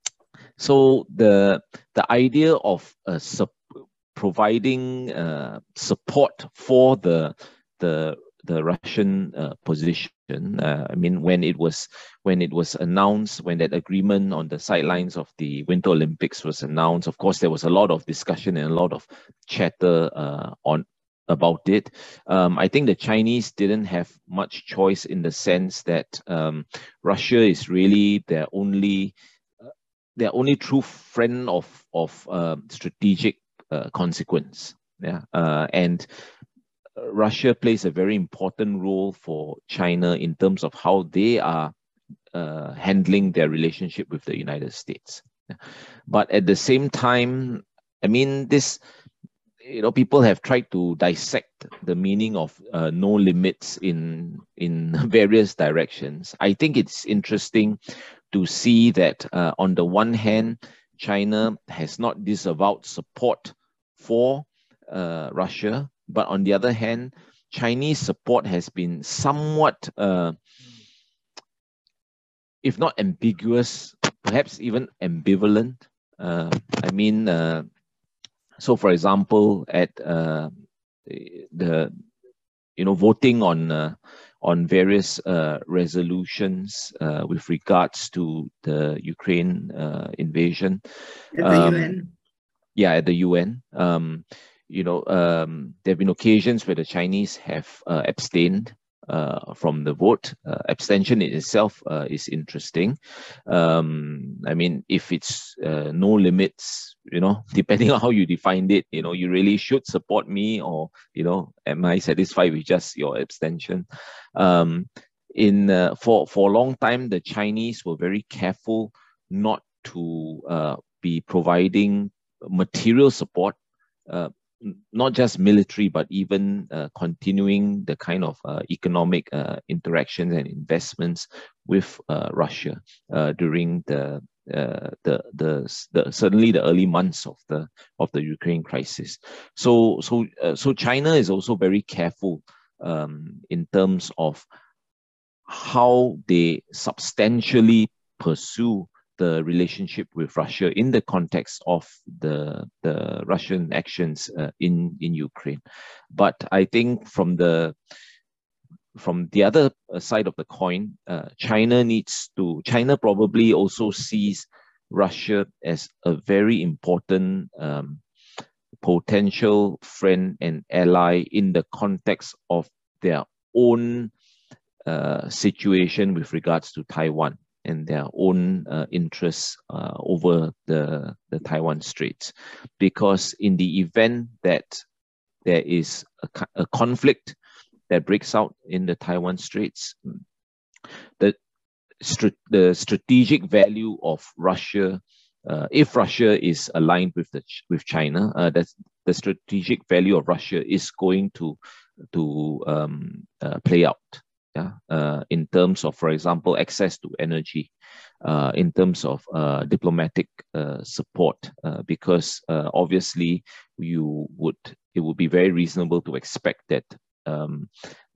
so the the idea of uh, providing uh, support for the the the Russian uh, position, uh, I mean, when it was when it was announced, when that agreement on the sidelines of the Winter Olympics was announced, of course there was a lot of discussion and a lot of chatter uh, on about it. Um, I think the Chinese didn't have much choice, in the sense that um, Russia is really their only, uh, their only true friend of of uh, strategic uh, consequence. Yeah, uh, and Russia plays a very important role for China in terms of how they are uh, handling their relationship with the United States. Yeah. But at the same time, I mean, this. You know, people have tried to dissect the meaning of uh, no limits in in various directions. I think it's interesting to see that uh, on the one hand, China has not disavowed support for uh, Russia, but on the other hand, Chinese support has been somewhat, uh, if not ambiguous, perhaps even ambivalent. Uh, I mean. Uh, So, for example, at uh, the you know voting on uh, on various uh, resolutions uh, with regards to the Ukraine uh, invasion, at the um, U N, yeah, at the U N, um, you know, um, there have been occasions where the Chinese have uh, abstained, uh, from the vote. Uh, abstention in itself uh, is interesting. Um, I mean, if it's uh, no limits, you know, depending on how you defined it, you know, you really should support me, or, you know, am I satisfied with just your abstention? Um, in uh, for for a long time, the Chinese were very careful not to uh, be providing material support, uh, not just military, but even uh, continuing the kind of uh, economic uh, interactions and investments with uh, Russia uh, during the, uh, the, the the certainly the early months of the of the Ukraine crisis. So so uh, so China is also very careful um, in terms of how they substantially pursue the relationship with Russia in the context of the, the Russian actions uh, in, in Ukraine. But I think from the from the other side of the coin, uh, China needs to, China probably also sees Russia as a very important um, potential friend and ally in the context of their own uh, situation with regards to Taiwan and their own uh, interests uh, over the, the Taiwan Straits. Because in the event that there is a, a conflict that breaks out in the Taiwan Straits, the, the strategic value of Russia, uh, if Russia is aligned with, the, with China, uh, that's, the strategic value of Russia is going to, to um, uh, play out. Yeah, uh, in terms of, for example, access to energy, uh, in terms of uh, diplomatic uh, support, uh, because uh, obviously you would, it would be very reasonable to expect that um,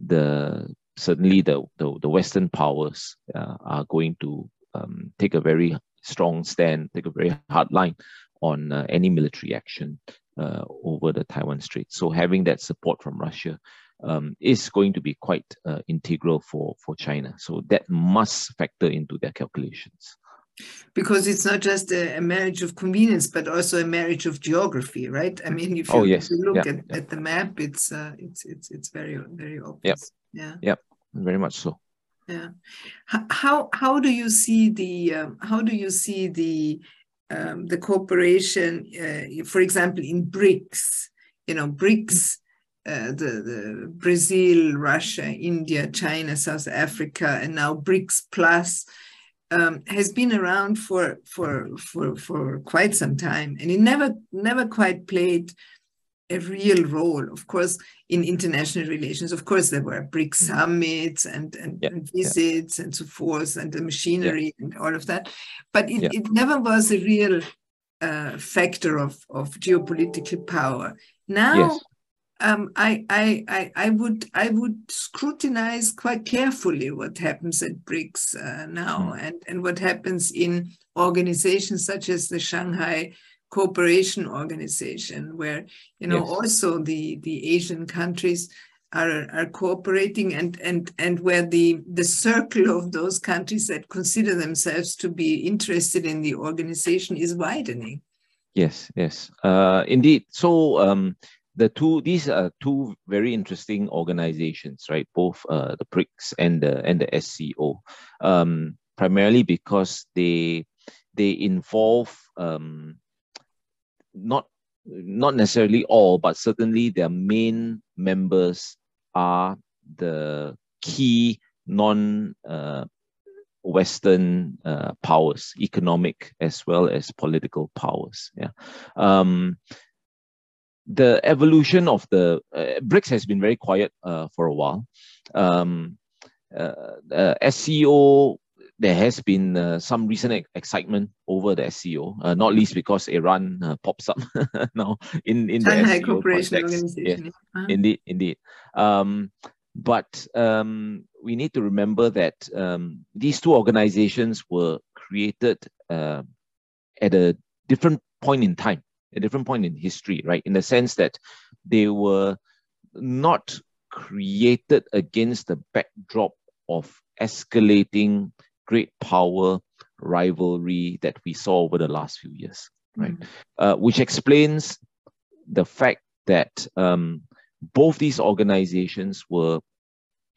the certainly the, the the Western powers uh, are going to um, take a very strong stand, take a very hard line on uh, any military action uh, over the Taiwan Strait. So having that support from Russia Um, is going to be quite uh, integral for, for China. So that must factor into their calculations. Because it's not just a, a marriage of convenience, but also a marriage of geography, right? I mean, if you, oh, yes. if you look yeah, at, yeah. at the map, it's uh, it's it's it's very very obvious. Yep. Yeah. Yep. Very much so. Yeah. How how do you see the um, how do you see the um, the cooperation, uh, for example, in BRICS? You know, BRICS. Uh, the, the Brazil, Russia, India, China, South Africa, and now BRICS Plus um, has been around for, for, for, for quite some time. And it never, never quite played a real role, of course, in international relations. Of course, there were BRICS summits and, and, yeah, and visits yeah. and so forth, and the machinery yeah. and all of that. But it, yeah. it never was a real uh, factor of, of geopolitical power. Now, yes. Um, I, I, I, I would, I would scrutinize quite carefully what happens at BRICS uh, now, mm. and, and what happens in organizations such as the Shanghai Cooperation Organization, where you know yes. also the, the Asian countries are, are cooperating, and, and, and where the, the circle of those countries that consider themselves to be interested in the organization is widening. Yes, yes, uh, indeed. So. Um, The two, these are two very interesting organizations, right? Both uh, the BRICS and the and the S C O, um, primarily because they they involve um, not not necessarily all, but certainly their main members are the key non uh, Western uh, powers, economic as well as political powers. Yeah. Um, The evolution of the uh, BRICS has been very quiet uh, for a while. Um, uh, uh, S C O, there has been uh, some recent ex excitement over the S C O, uh, not least because Iran uh, pops up now in, in the S C O context. Yes, uh-huh. Indeed, indeed. Um, but um, we need to remember that um, these two organizations were created uh, at a different point in time. A different point in history, right? In the sense that they were not created against the backdrop of escalating great power rivalry that we saw over the last few years, right? Mm. Uh, which explains the fact that um, both these organizations were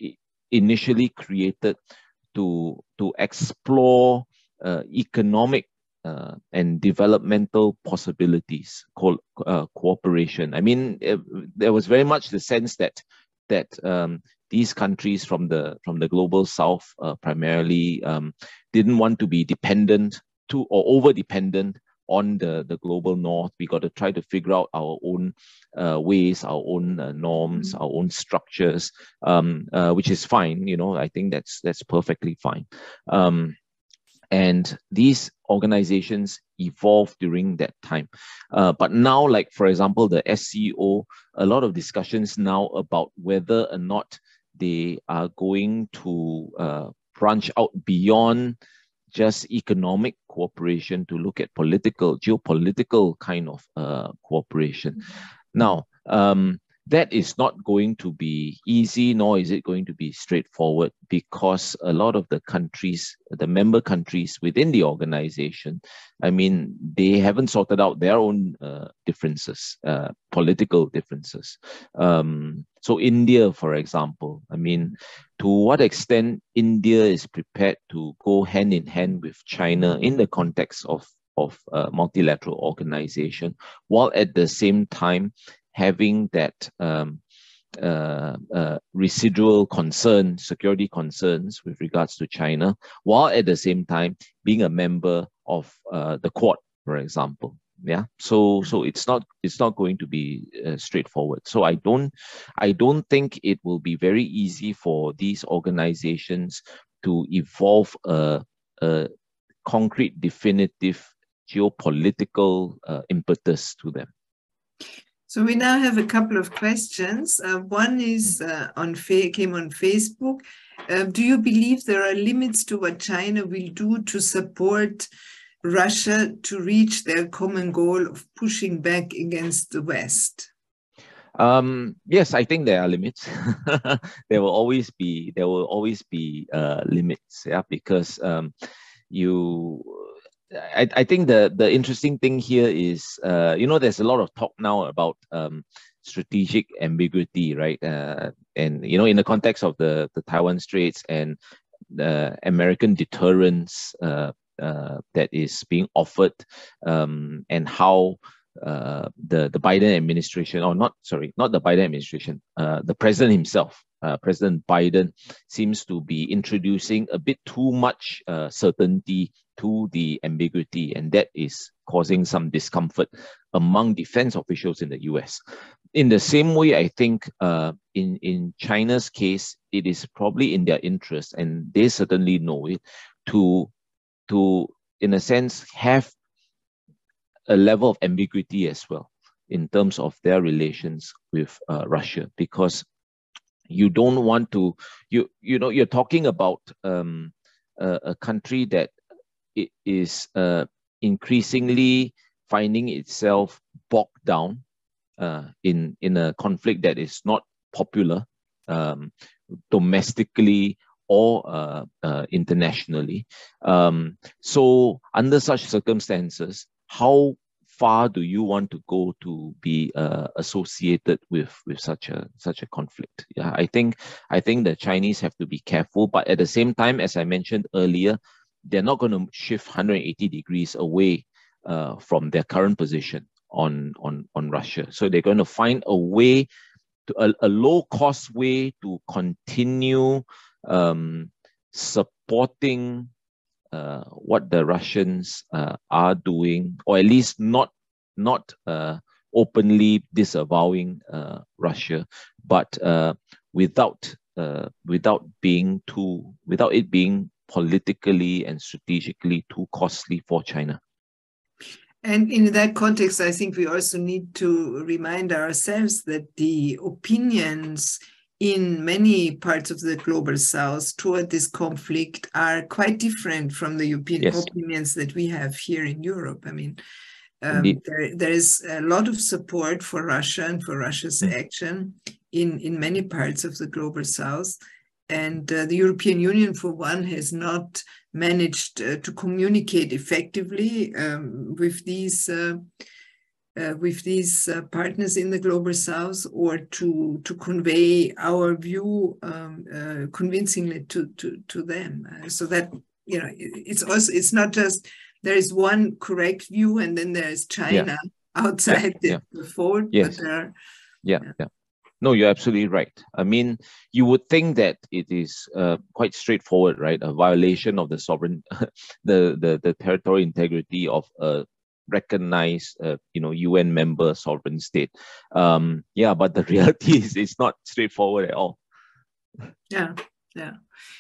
initially created to, to explore uh, economic uh, and developmental possibilities, co uh, cooperation. I mean, it, there was very much the sense that that um, these countries from the from the global south uh, primarily um, didn't want to be dependent to or over dependent on the the global north. We got to try to figure out our own uh, ways, our own uh, norms, mm-hmm. our own structures, um, uh, which is fine. You know, I think that's that's perfectly fine. Um, and these organizations evolved during that time. Uh, but now, like for example, the S C O, a lot of discussions now about whether or not they are going to uh, branch out beyond just economic cooperation to look at political, geopolitical kind of uh, cooperation. Mm-hmm. Now, um, that is not going to be easy, nor is it going to be straightforward, because a lot of the countries, the member countries within the organization, I mean, they haven't sorted out their own uh, differences, uh, political differences. Um, so India, for example, I mean, to what extent India is prepared to go hand in hand with China in the context of, of uh, multilateral organization, while at the same time having that um, uh, uh, residual concern, security concerns with regards to China, while at the same time being a member of uh, the Quad, for example. Yeah, so so it's not it's not going to be uh, straightforward. So I don't I don't think it will be very easy for these organizations to evolve a, a concrete, definitive geopolitical uh, impetus to them. So we now have a couple of questions. Uh, one is uh, on came on Facebook. Uh, do you believe there are limits to what China will do to support Russia to reach their common goal of pushing back against the West? Um, yes, I think there are limits. there will always be there will always be uh, limits. Yeah, because um, you. I, I think the, the interesting thing here is, uh, you know, there's a lot of talk now about um, strategic ambiguity, right? Uh, and, you know, in the context of the, the Taiwan Straits and the American deterrence uh, uh, that is being offered, um, and how uh, the, the Biden administration, or not, sorry, not the Biden administration, uh, the president himself, Uh, President Biden seems to be introducing a bit too much uh, certainty to the ambiguity, and that is causing some discomfort among defense officials in the U S. In the same way, I think uh, in, in China's case, it is probably in their interest, and they certainly know it, to, to in a sense, have a level of ambiguity as well in terms of their relations with uh, Russia, because you don't want to, you you know, you're talking about um, a, a country that it is uh, increasingly finding itself bogged down uh, in, in a conflict that is not popular um, domestically or uh, uh, internationally. Um, so under such circumstances, how far do you want to go to be uh, associated with with such a such a conflict? Yeah, I think I think the Chinese have to be careful, but at the same time, as I mentioned earlier, they're not going to shift one hundred eighty degrees away uh, from their current position on on on Russia. So they're going to find a way, to a, a low cost way to continue um, supporting Uh, what the Russians uh, are doing, or at least not not uh, openly disavowing uh, Russia, but uh, without uh, without being too without it being politically and strategically too costly for China. And in that context, I think we also need to remind ourselves that the opinions in many parts of the global south toward this conflict are quite different from the European yes. opinions that we have here in Europe. I mean, um, there, there is a lot of support for Russia and for Russia's mm. action in, in many parts of the global south. And uh, the European Union, for one, has not managed uh, to communicate effectively um, with these uh, uh, with these uh, partners in the Global South, or to to convey our view um, uh, convincingly to to to them, uh, so that you know it's also it's not just there is one correct view and then there is China yeah. outside yeah. the, the fold, yes. but there are, yeah, yeah, yeah. No, you're absolutely right. I mean, you would think that it is uh, quite straightforward, right? A violation of the sovereign, the, the the territorial integrity of a recognized, uh, you know, U N member sovereign state. Um, yeah, but the reality is it's not straightforward at all. Yeah, yeah.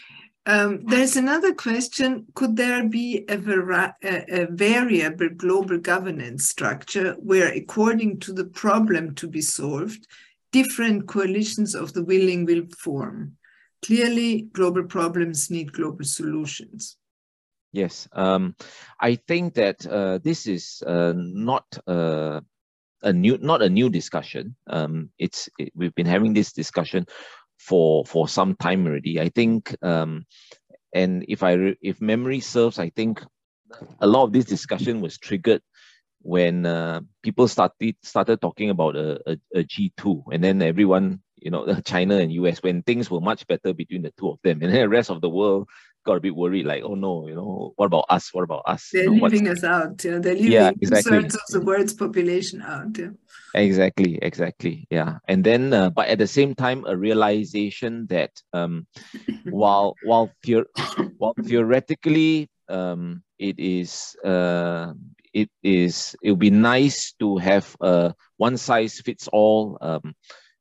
Um, there's another question. Could there be a, vari a, a variable global governance structure where, according to the problem to be solved, different coalitions of the willing will form? Clearly, global problems need global solutions. Yes, um, I think that uh, this is uh, not uh, a new, not a new discussion. Um, it's it, we've been having this discussion for for some time already. I think, um, and if I re if memory serves, I think a lot of this discussion was triggered when uh, people started started talking about a, a, a G two, and then everyone, you know, China and U S, when things were much better between the two of them, and then the rest of the world got a bit worried, like, oh no, you know, what about us? What about us? They're you know, leaving us out. Yeah? They're leaving yeah, exactly. two-thirds of the world's population out. Yeah? Exactly, exactly. Yeah. And then, uh, but at the same time, a realization that um, while while the while theoretically um, it is uh, it is it would be nice to have a one size fits all um,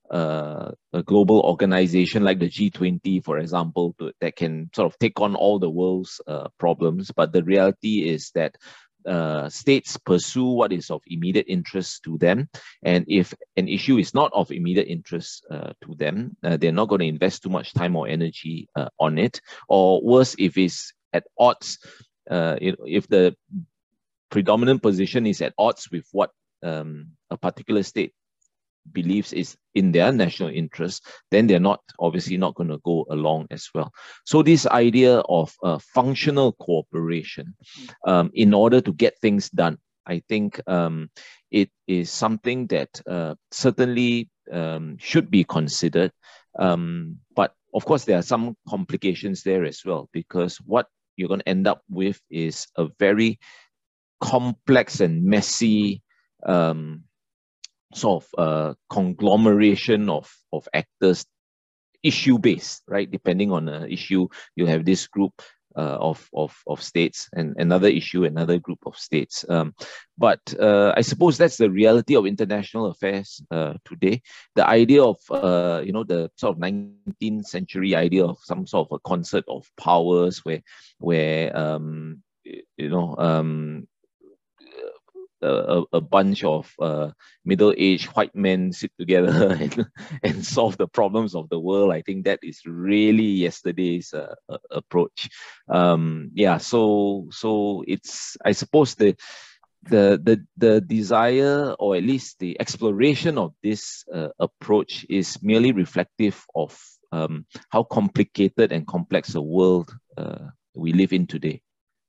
uh, a global organization like the G twenty, for example, to, that can sort of take on all the world's uh, problems. But the reality is that Uh, states pursue what is of immediate interest to them, and if an issue is not of immediate interest uh, to them, uh, they're not going to invest too much time or energy uh, on it. Or worse, if it's at odds, uh, if, if the predominant position is at odds with what um, a particular state believes is in their national interest, then they're not obviously not going to go along as well. So this idea of uh, functional cooperation um, in order to get things done, I think um, it is something that uh, certainly um, should be considered. Um, but of course, there are some complications there as well, because what you're going to end up with is a very complex and messy um, sort of uh, conglomeration of, of actors, issue-based, right? Depending on the issue, you have this group uh, of, of, of states, and another issue, another group of states. Um, but uh, I suppose that's the reality of international affairs uh, today. The idea of, uh, you know, the sort of nineteenth century idea of some sort of a concert of powers where, where um, you know, um, A, a bunch of uh, middle-aged white men sit together and, and solve the problems of the world. I think that is really yesterday's uh, uh, approach. Um, yeah, so so it's, I suppose, the the the the desire, or at least the exploration of this uh, approach, is merely reflective of um, how complicated and complex a world uh, we live in today.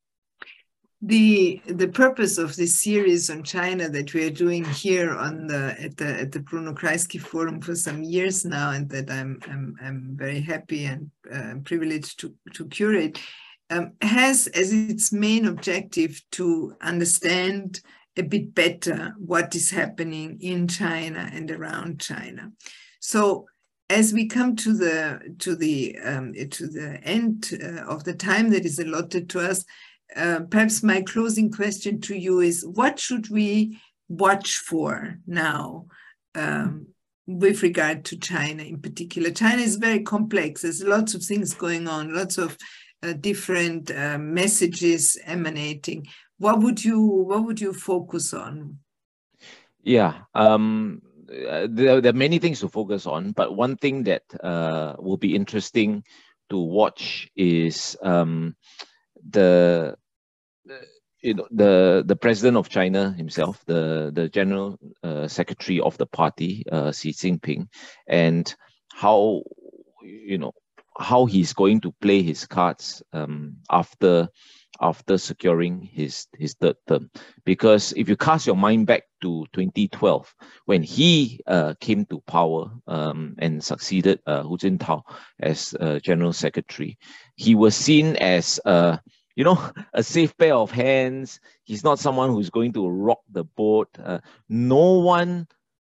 The the purpose of this series on China that we are doing here on the at the at the Bruno Kreisky Forum for some years now, and that I'm I'm I'm very happy and uh, privileged to to curate, um, has as its main objective to understand a bit better what is happening in China and around China. So as we come to the to the um, to the end uh, of the time that is allotted to us, Uh, perhaps my closing question to you is, what should we watch for now um, with regard to China in particular? China is very complex. There's lots of things going on, lots of uh, different uh, messages emanating. What would you what would you focus on? Yeah, um, there, there are many things to focus on, but one thing that uh, will be interesting to watch is um, the you know the the president of China himself, the the general uh, secretary of the party, uh, Xi Jinping, and how you know how he's going to play his cards um, after after securing his, his third term. Because if you cast your mind back to twenty twelve, when he uh, came to power um, and succeeded uh, Hu Jintao as uh, General Secretary, he was seen as, uh, you know, a safe pair of hands. He's not someone who's going to rock the boat. Uh, no one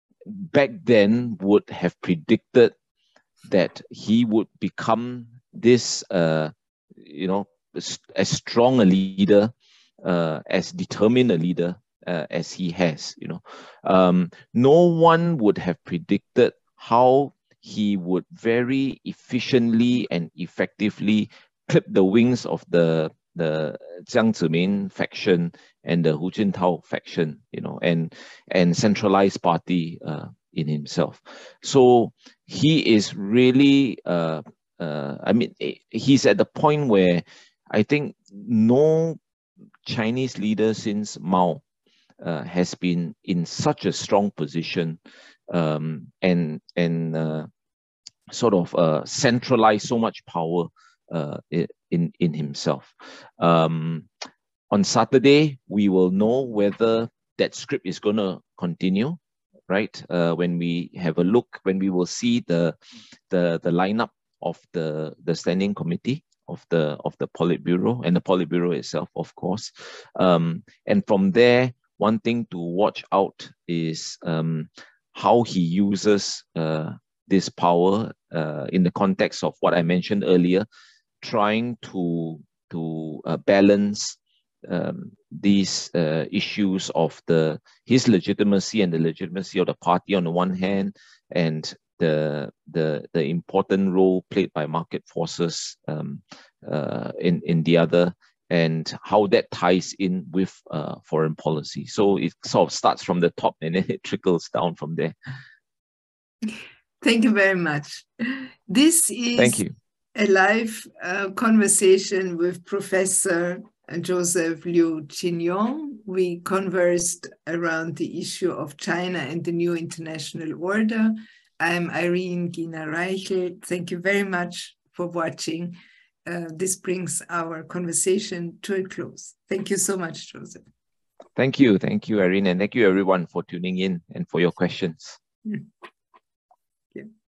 back then would have predicted that he would become this, uh, you know, as strong a leader, uh, as determined a leader uh, as he has. You know, um, no one would have predicted how he would very efficiently and effectively clip the wings of the the Jiang Zemin faction and the Hu Jintao faction. You know, and and centralized party uh, in himself. So he is really. Uh, uh, I mean, he's at the point where I think no Chinese leader since Mao uh, has been in such a strong position um, and and uh, sort of uh, centralized so much power uh, in in himself. Um, on Saturday, we will know whether that script is going to continue. Right, uh, when we have a look, when we will see the the the lineup of the the standing committee of the of the Politburo and the Politburo itself, of course, um, and from there, one thing to watch out is um, how he uses uh, this power uh, in the context of what I mentioned earlier, trying to to uh, balance um, these uh, issues of the his legitimacy and the legitimacy of the party on the one hand, and the the the important role played by market forces um, uh, in in the other, and how that ties in with uh, foreign policy. So it sort of starts from the top and then it trickles down from there. Thank you very much. This is Thank you. a live uh, conversation with Professor Joseph Liu Qin-yong. We conversed around the issue of China and the new international order. I'm Irene Gina-Reichel. Thank you very much for watching. Uh, this brings our conversation to a close. Thank you so much, Joseph. Thank you. Thank you, Irene. And thank you, everyone, for tuning in and for your questions. Mm.